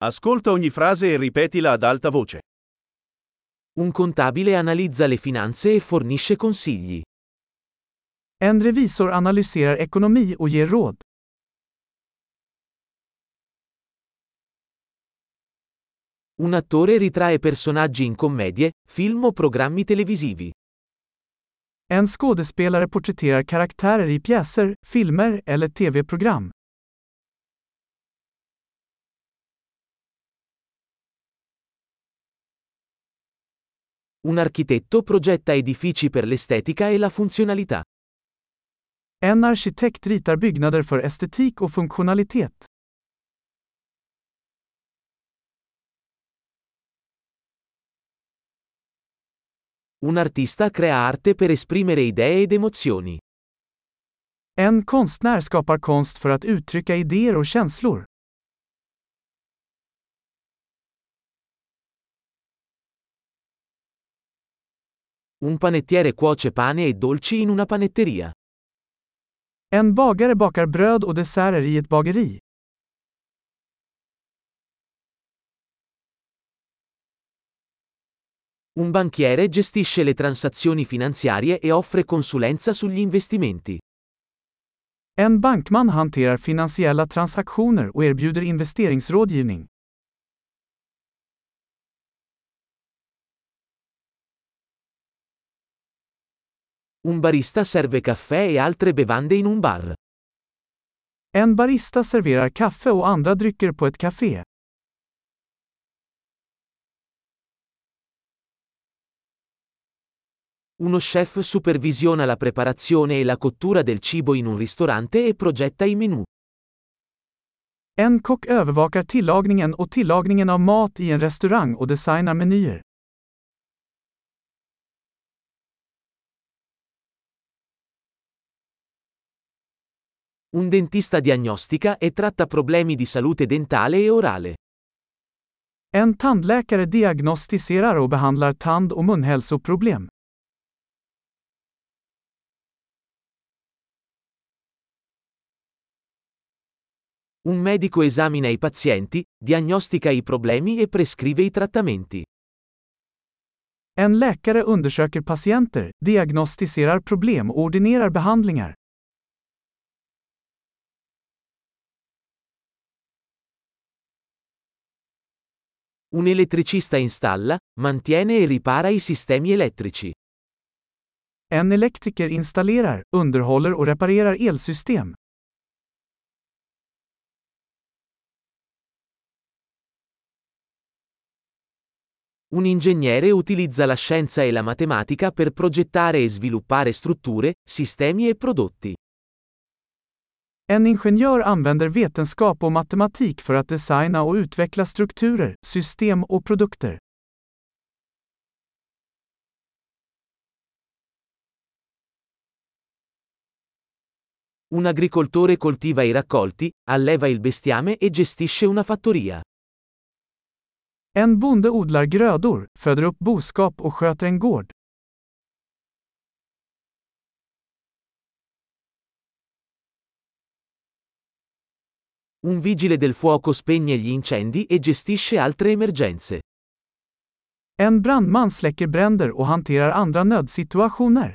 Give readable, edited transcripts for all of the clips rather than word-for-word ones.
Ascolta ogni frase e ripetila ad alta voce. Un contabile analizza le finanze e fornisce consigli. En revisor analyserar ekonomi och ger råd. Un attore ritrae personaggi in commedie, film o programmi televisivi. En skådespelare porträtterar karaktärer i pjäser, filmer eller tv-program. Un architetto progetta edifici per l'estetica e la funzionalità. En arkitekt ritar byggnader för estetik och funktionalitet. Un artista crea arte per esprimere idee ed emozioni. En konstnär skapar konst för att uttrycka idéer och känslor. Un panettiere cuoce pane e dolci in una panetteria. En bagare bakar bröd och desserter i ett bageri. Un banchiere gestisce le transazioni finanziarie e offre consulenza sugli investimenti. En bankman hanterar finansiella transaktioner och erbjuder investeringsrådgivning. Un barista serve caffè e altre bevande in un bar. En barista serverar kaffe och andra drycker på ett café. Uno chef supervisiona la preparazione e la cottura del cibo in un ristorante e progetta i menù. En kock övervakar tillagningen och tillagningen av mat i en restaurang och designar menyer. Un dentista diagnostica e tratta problemi di salute dentale e orale. En tandläkare diagnostiserar och behandlar tand- och munhälsoproblem. Un medico esamina i pazienti, diagnostica i problemi e prescrive i trattamenti. En läkare undersöker patienter, diagnostiserar problem och ordinerar behandlingar. Un elettricista installa, mantiene e ripara i sistemi elettrici. En elektriker installerar, underhåller och reparerar elsystem. Un ingegnere utilizza la scienza e la matematica per progettare e sviluppare strutture, sistemi e prodotti. En ingenjör använder vetenskap och matematik för att designa och utveckla strukturer, system och produkter. Un agricoltore coltiva i raccolti, alleva il bestiame e gestisce una fattoria. En bonde odlar grödor, föder upp boskap och sköter en gård. Un vigile del fuoco spegne gli incendi e gestisce altre emergenze. En brandman släcker bränder och hanterar andra nödsituationer.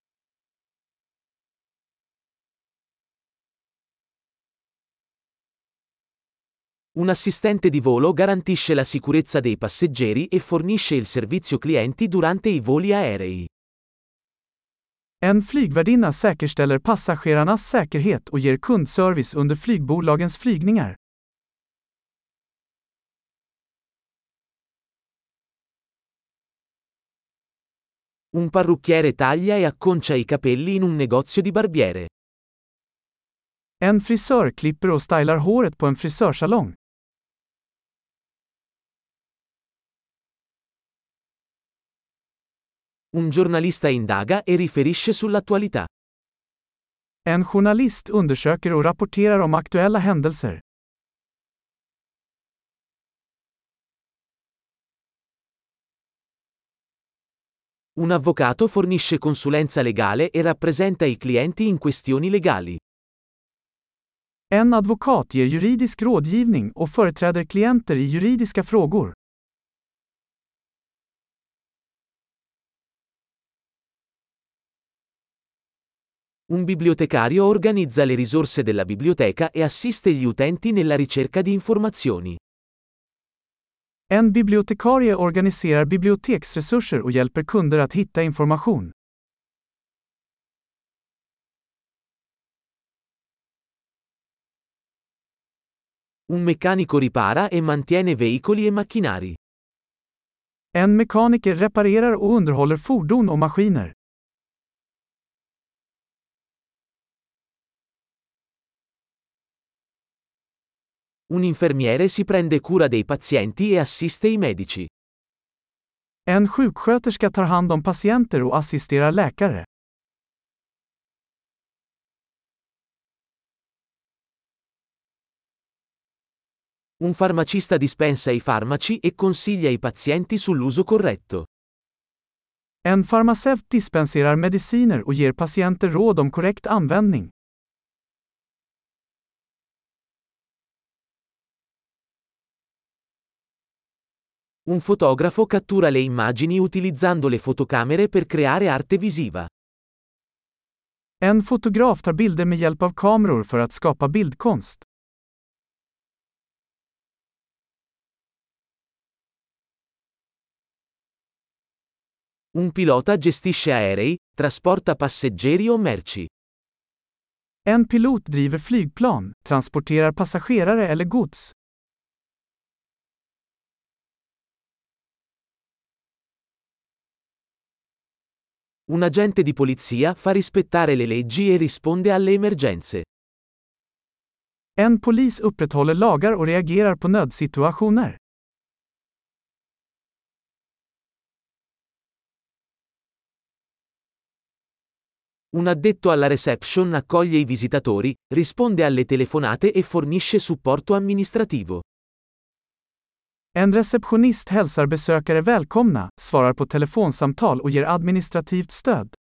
Un assistente di volo garantisce la sicurezza dei passeggeri e fornisce il servizio clienti durante i voli aerei. En flygvärdinna säkerställer passagerarnas säkerhet och ger kundservice under flygbolagens flygningar. Un parrucchiere taglia e acconcia i capelli in un negozio di barbiere. En frisör klipper och stylar håret på en frisörsalong. Un giornalista indaga e riferisce sull'attualità. En journalist undersöker och rapporterar om aktuella händelser. Un avvocato fornisce consulenza legale e rappresenta i clienti in questioni legali. En advokat ger juridisk rådgivning och företräder klienter i juridiska frågor. Un bibliotecario organizza le risorse della biblioteca e assiste gli utenti nella ricerca di informazioni. En bibliotekarie organiserar biblioteksresurser och hjälper kunder att hitta information. Un meccanico ripara e mantiene veicoli e macchinari. En mekaniker reparerar och underhåller fordon och maskiner. Un infermiere si prende cura dei pazienti e assiste i medici. En sjuksköterska tar hand om patienter och assisterar läkare. Un farmacista dispensa i farmaci e consiglia i pazienti sull'uso corretto. En farmaceut dispenserar mediciner och ger patienter råd om korrekt användning. Un fotografo cattura le immagini utilizzando le fotocamere per creare arte visiva. En fotograf tar bilder med hjälp av kameror för att skapa bildkonst. Un pilota gestisce aerei, trasporta passeggeri o merci. En pilot driver flygplan, transporterar passagerare eller gods. Un agente di polizia fa rispettare le leggi e risponde alle emergenze. En polis upprätthåller lagar och reagerar på nödsituationer. Un addetto alla reception accoglie i visitatori, risponde alle telefonate e fornisce supporto amministrativo. En receptionist hälsar besökare välkomna, svarar på telefonsamtal och ger administrativt stöd.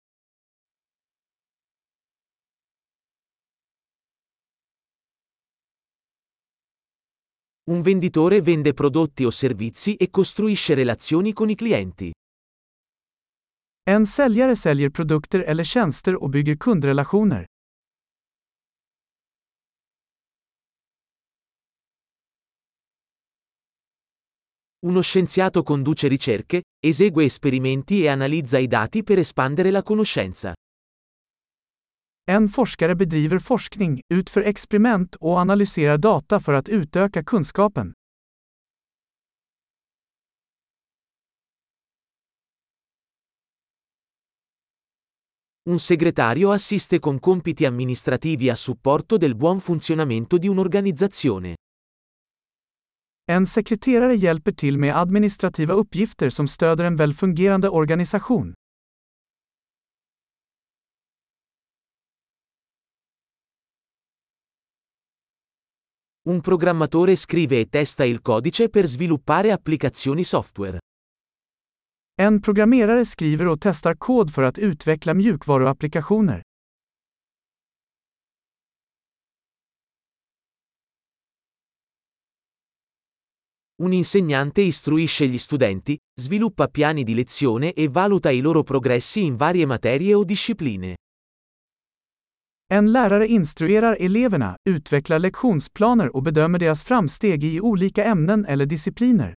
Un venditore vende prodotti o servizi e costruisce relazioni con i clienti. En säljare säljer produkter eller tjänster och bygger kundrelationer. Uno scienziato conduce ricerche, esegue esperimenti e analizza i dati per espandere la conoscenza. En forskare bedriver forskning, utför experiment och analyserar data för att utöka kunskapen. Un segretario assiste con compiti amministrativi a supporto del buon funzionamento di un'organizzazione. En sekreterare hjälper till med administrativa uppgifter som stöder en välfungerande organisation. Un programmatore scrive e testa il codice per sviluppare applicazioni software. En programmerare skriver och testar kod för att utveckla mjukvaruapplikationer. Un insegnante istruisce gli studenti, sviluppa piani di lezione e valuta i loro progressi in varie materie o discipline. En lärare instruerar eleverna, utvecklar lektionsplaner och bedömer deras framsteg i olika ämnen eller discipliner.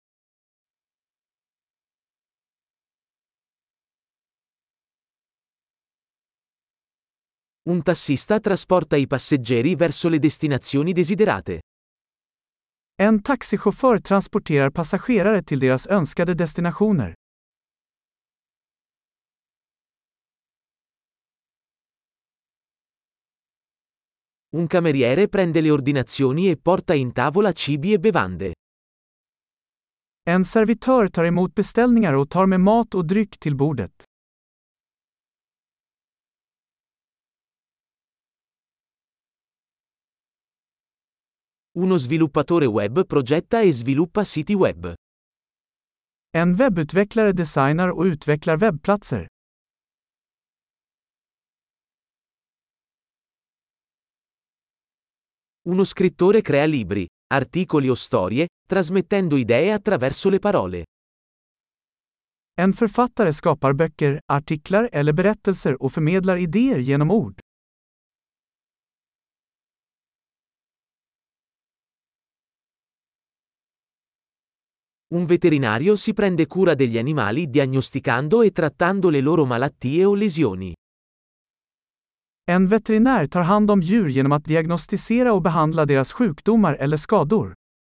Un tassista trasporta i passeggeri verso le destinazioni desiderate. En taxichaufför transporterar passagerare till deras önskade destinationer. Un cameriere prende le ordinazioni e porta in tavola cibi e bevande. En servitör tar emot beställningar och tar med mat och dryck till bordet. Uno sviluppatore web progetta e sviluppa siti web. En webbutvecklare designar och utvecklar webbplatser. Uno scrittore crea libri, articoli o storie, trasmettendo idee attraverso le parole. En författare skapar böcker, artiklar eller berättelser och förmedlar idéer genom ord. Un veterinario si prende cura degli animali diagnosticando e trattando le loro malattie o lesioni. En veterinär tar hand om djur genom att diagnostisera och behandla deras sjukdomar eller skador.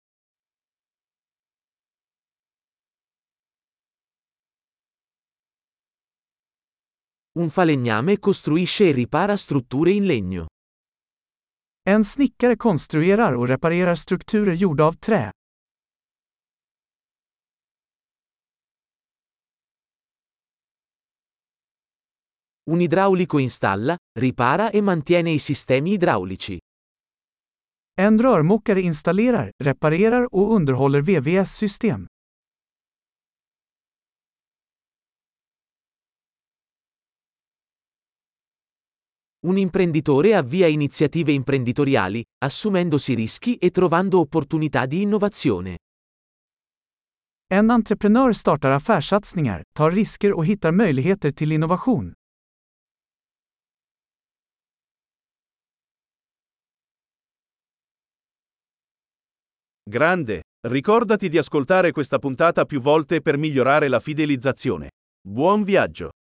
Un falegname costruisce e ripara strutture in legno. En snickare konstruerar och reparerar strukturer gjorda av trä. Un idraulico installa, ripara e mantiene i sistemi idraulici. En rörmokare installerar, reparerar och underhåller VVS-system. Un imprenditore avvia iniziative imprenditoriali, assumendosi rischi e trovando opportunità di innovazione. En entreprenör startar affärssatsningar, tar risker och hittar möjligheter till innovation. Grande! Ricordati di ascoltare questa puntata più volte per migliorare la fidelizzazione. Buon viaggio!